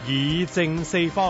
議政四方。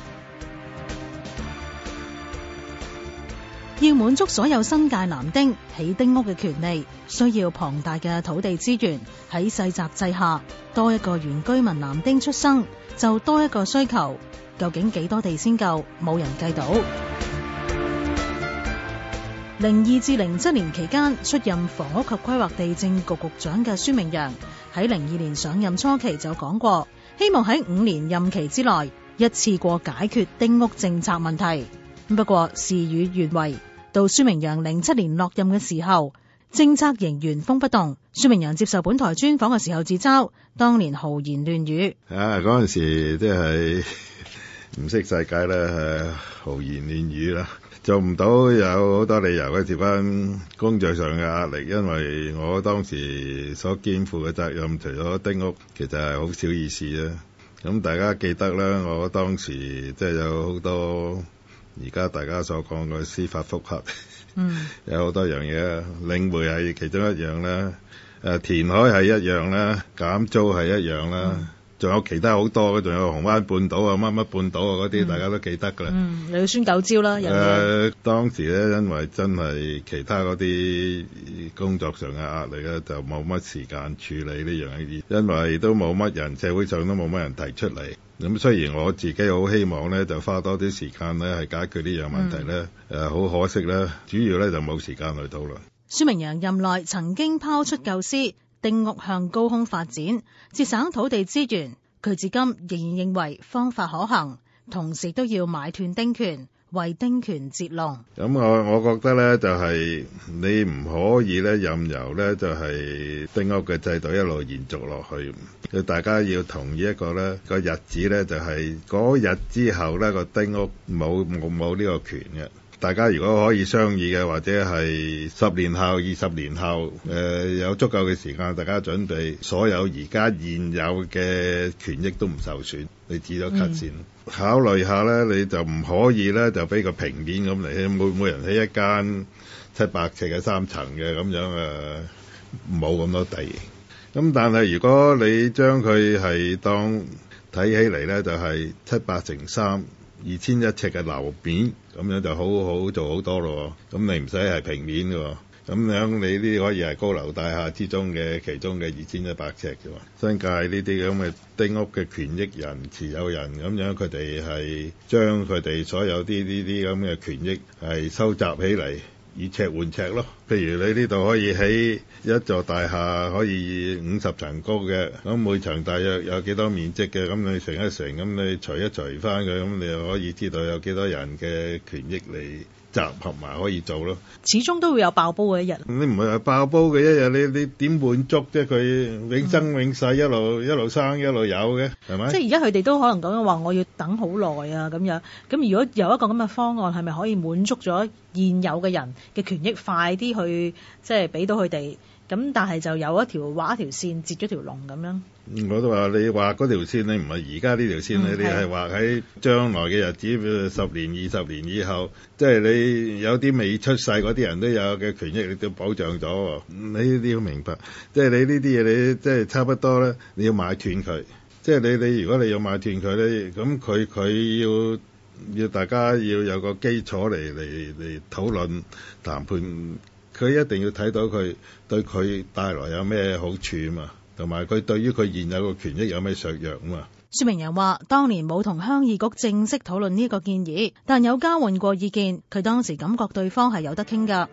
要滿足所有新界男丁起丁屋嘅權利，需要龐大嘅土地資源。喺世襲制下，多一個原居民男丁出生，就多一個需求。究竟幾多地先夠？冇人計到。02至07年期間，出任房屋及規劃地政局局長嘅孫明揚喺02年上任初期就講過，希望喺5年任期之內一次過解決丁屋政策問題。不過事與願違，到孫明揚07年落任嘅時候，政策仍原封不動。孫明揚接受本台專訪嘅時候自嘲，當年豪言亂語。 嗰陣時即係唔識世界咧，豪言亂語啦，做唔到有好多理由嘅，接翻工作上嘅壓力，因為我當時所肩負嘅責任，除咗丁屋，其實係好少意思啦。咁大家記得啦，我當時即係有好多。而家大家所講嘅司法覆核，有好多樣嘢，領匯係其中一樣啦，填海係一樣啦，減租係一樣啦，仲有其他好多嘅，仲有紅灣半島啊、乜乜半島啊嗰啲，大家都記得㗎啦。 你要宣九招啦， 當時咧，因為真係其他嗰啲工作上嘅壓力咧，就冇乜時間處理呢樣嘢，因為都冇乜人，社會上都冇乜人提出嚟。咁雖然我自己好希望咧，就花多啲時間咧，係解決呢樣問題咧，好可惜咧，主要咧就冇時間去討論。 孫明揚任內曾經拋出構思，丁屋向高空發展，節省土地資源。佢至今仍然認為方法可行，同時都要買斷丁權，為丁權截龍。 咁我覺得咧，就係你唔可以咧任由咧，就係丁屋嘅制度一路延續落去。大家要同意一個咧個日子咧，就係嗰日之後咧個丁屋冇呢個權嘅。大家如果可以商議嘅，或者係10年後、20年後，有足夠嘅時間，大家準備所有而家現有嘅權益都唔受損，你止咗咳先。考慮下咧，你就唔可以咧就俾個平面咁嚟，每人起一間700尺嘅3層嘅咁樣冇咁多地。咁但係如果你將佢係當睇起嚟咧，就係700乘3。2100尺嘅樓面，咁樣就好做好多咯。咁你唔使係平面嘅，咁樣你呢啲可以係高樓大廈之中嘅其中嘅2100尺嘅。新界呢啲咁嘅丁屋嘅權益人、持有人咁樣，佢哋係將佢哋所有呢啲咁嘅權益係收集起嚟，以尺換尺咯。譬如你呢度可以起一座大廈，可以50層高嘅，咁每層大約有幾多面積嘅，咁你乘一乘，咁你除一除翻佢，咁你就可以知道有幾多人嘅權益嚟集合埋可以做咯。 始終都會有爆煲嘅一日。 你唔係話爆煲嘅一日，你點滿足啫？佢永生永世一路生一路有嘅，係咪？ 即係而家佢哋都可能講緊話，我要等好耐啊咁樣。咁如果有一個咁嘅方案，係咪可以滿足咗現有嘅人嘅權益，快啲去即係俾到佢哋？咁但係就有畫一條線，截咗條龍咁樣。 我都話你畫嗰條線，你唔係而家呢條線，你係畫喺將來嘅日子，10年、20年以後，即係你有啲未出世嗰啲人都有嘅權益，你都保障咗。你呢啲要明白，即係你呢啲嘢，你即係差不多咧，你要買斷佢。即係你如果你要買斷佢咧，咁佢要大家要有個基礎嚟討論談判。佢一定要睇到佢對佢帶來有咩好處啊嘛，同埋佢對於佢現有嘅權益有咩削弱啊嘛。 孫明揚話：當年冇同鄉議局正式討論呢個建議，但有交換過意見。佢當時感覺對方係有得傾㗎。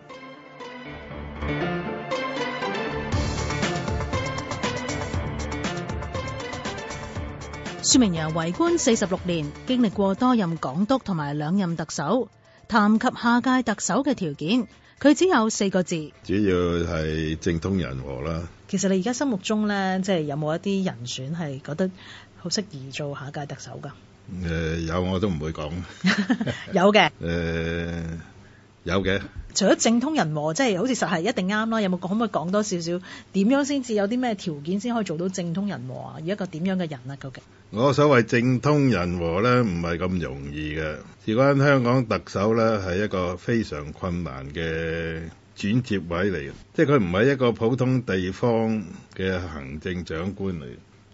孫明揚為官46年，經歷過多任港督同埋2任特首。談及下屆特首嘅條件，佢只有4個字， 主要係政通人和啦。 其實你而家心目中咧，即係有冇一啲人選係覺得好適宜做下屆特首噶？ 有我都唔會講。 有嘅。 有嘅。 除咗政通人和，即係好似實係一定啱啦。有冇可唔可以講多少少？點樣先至有啲咩條件先可以做到政通人和啊？而一個點樣嘅人啊？究竟？ 我所謂政通人和咧，唔係咁容易嘅。事關香港特首咧，係一個非常困難嘅轉接位嚟嘅，即係佢唔係一個普通地方嘅行政長官嚟，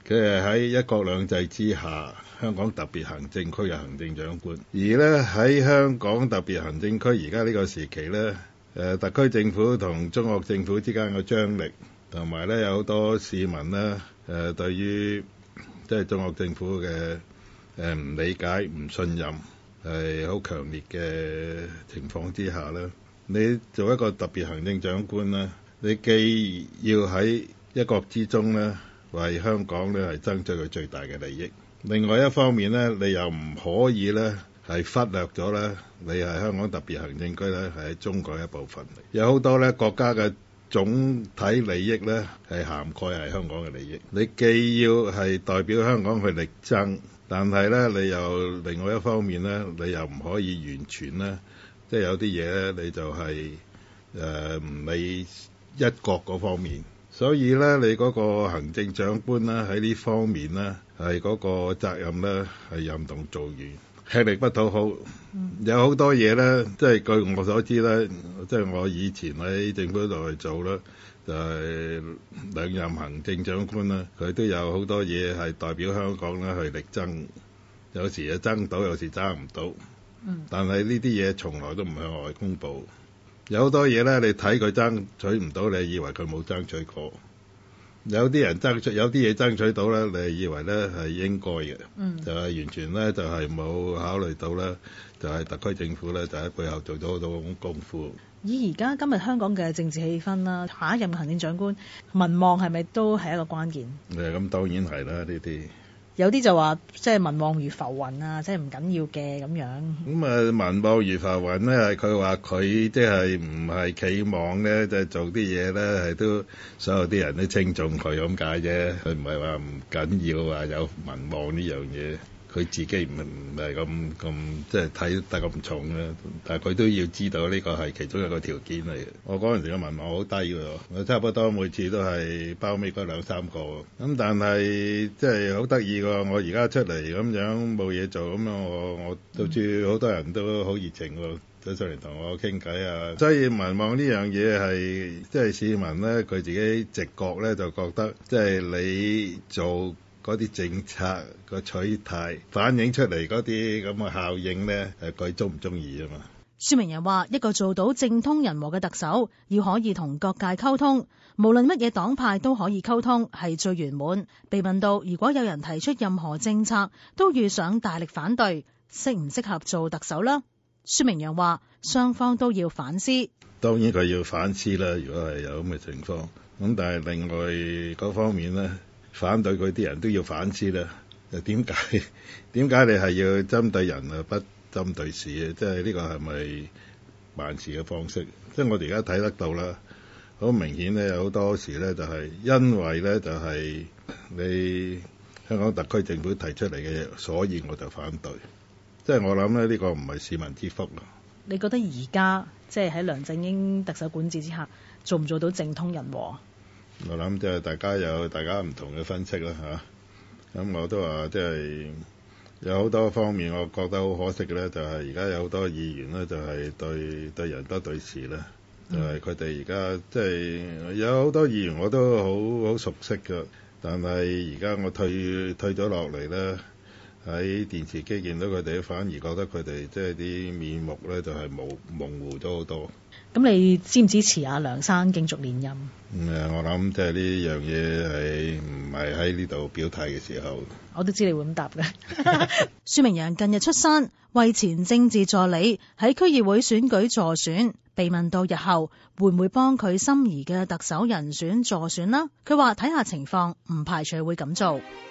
佢係喺一國兩制之下香港特別行政區嘅行政長官，而咧喺香港特別行政區而家呢個時期咧，特區政府同中國政府之間嘅張力，同埋咧有好多市民咧對於即係中國政府嘅唔理解、唔信任係好強烈嘅情況之下咧，你做一個特別行政長官咧，你既要喺一國之中咧為香港咧係爭取佢最大嘅利益，另外一方面咧你又唔可以咧係忽略咗咧你係香港特別行政區咧係中國一部分，有好多咧國家嘅總體利益咧係涵蓋係香港嘅利益，你既要係代表香港去力爭，但係咧你又另外一方面咧你又唔可以完全咧即係有啲嘢咧你就係唔理一國嗰方面。所以咧，你嗰個行政長官咧喺呢方面咧，係嗰個責任咧係任重道遠，吃力不討好。有好多嘢咧，即係據我所知咧，即係我以前喺政府度去做啦，就係兩任行政長官啦，佢都有好多嘢係代表香港咧去力爭，有時就爭到，有時爭唔到。但係呢啲嘢從來都唔向外公佈。有好多嘢咧，你睇佢爭取唔到，你以為佢冇爭取過；有啲人爭取，有啲嘢爭取到咧，你以為咧係應該嘅，就係完全咧就係冇考慮到咧，就係特區政府咧就喺背後做咗好多功夫。 以而家今日香港嘅政治氣氛啦，下一任行政長官民望係咪都係一個關鍵？ 咁當然係啦，呢啲。 有啲就話即係民望如浮雲啊，即係唔緊要嘅咁樣。 民望如浮雲咧，係佢話佢即係唔係期望咧，就係做啲嘢咧係都所有啲人都稱重佢咁解啫。佢唔係話唔緊要話有民望呢樣嘢，佢自己唔係咁即係睇得咁重嘅。但係佢都要知道呢個係其中一個條件嚟嘅。我嗰陣時嘅民望好低㗎，我差不多每次都係包尾嗰兩三個。咁但係即係好得意㗎。我而家出嚟咁樣冇嘢做，咁樣我到處好多人都好熱情喎，走上嚟同我傾偈啊。所以民望呢樣嘢係即係市民咧，佢自己直覺咧就覺得，即係你做嗰啲政策個取態反映出嚟嗰啲咁嘅效應咧，佢中唔中意啊嘛？ 孫明揚話：一個做到政通人和嘅特首，要可以同各界溝通，無論乜嘢黨派都可以溝通，係最圓滿。被問到如果有人提出任何政策，都遇上大力反對，適唔適合做特首啦？孫明揚話：雙方都要反思。 當然佢要反思啦，如果係有咁嘅情況。咁但係另外嗰方面咧，反對佢啲人都要反思啦。點解你係要針對人啊，不針對事啊？即係呢個係咪辦事嘅方式？即係我哋而家睇得到啦，好明顯咧，有好多時咧就係因為咧就係你香港特區政府提出嚟嘅嘢，所以我就反對。即係我諗咧，呢個唔係市民之福啊！你覺得而家即係喺梁振英特首管治之下，做唔做到政通人和？ 我諗即係大家有大家唔同嘅分析啦嚇。咁我都話即係有好多方面，我覺得好可惜嘅咧，就係而家有好多議員咧，就係對人多對事咧，就係佢哋而家即係有好多議員我都好熟悉㗎，但係而家我退咗落嚟咧，喺電視機見到佢哋，反而覺得佢哋即係啲面目咧就係模糊咗好多。 咁你支唔支持阿梁生競逐連任？ 我諗即係呢樣嘢係唔係喺呢度表態嘅時候。 我都知你會咁答嘅。孫明揚近日出山為前政治助理喺區議會選舉助選，被問到日後會唔會幫佢心儀嘅特首人選助選啦，佢話睇下情況，唔排除會咁做。